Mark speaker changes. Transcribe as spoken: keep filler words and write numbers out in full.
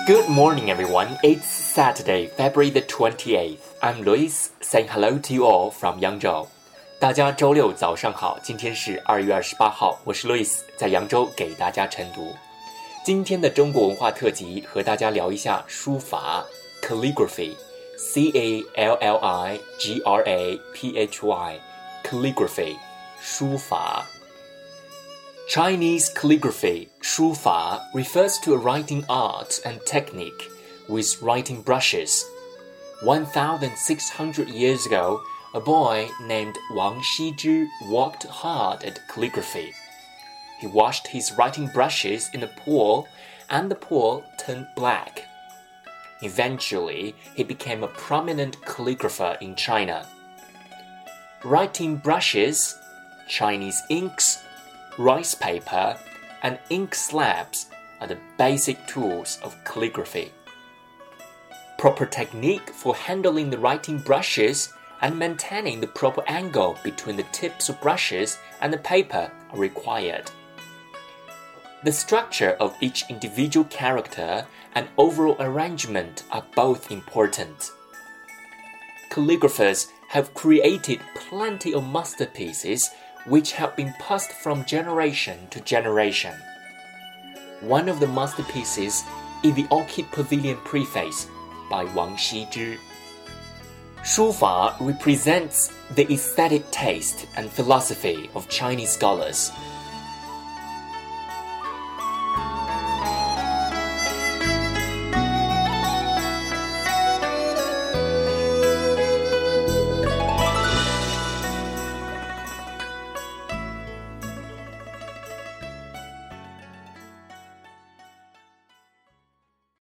Speaker 1: Good morning, everyone. It's Saturday, February the twenty-eighth. I'm Luis, saying hello to you all from Yangzhou. 大家周六早上好，今天是二月二十八号，我是 Luis， 在扬州给大家晨读。今天的中国文化特辑和大家聊一下书法 calligraphy，C A L L I G R A P H Y calligraphy 书法。Chinese calligraphy, 书法 refers to a writing art and technique with writing brushes. one thousand six hundred years ago, a boy named Wang Xizhi worked hard at calligraphy. He washed his writing brushes in a pool, and the pool turned black. Eventually, he became a prominent calligrapher in China. Writing brushes, Chinese inks, rice paper, and ink slabs are the basic tools of calligraphy. Proper technique for handling the writing brushes and maintaining the proper angle between the tips of brushes and the paper are required. The structure of each individual character and overall arrangement are both important. Calligraphers have created plenty of masterpieces which have been passed from generation to generation. One of the masterpieces is the Orchid Pavilion Preface by Wang Xizhi. 书法 represents the aesthetic taste and philosophy of Chinese scholars,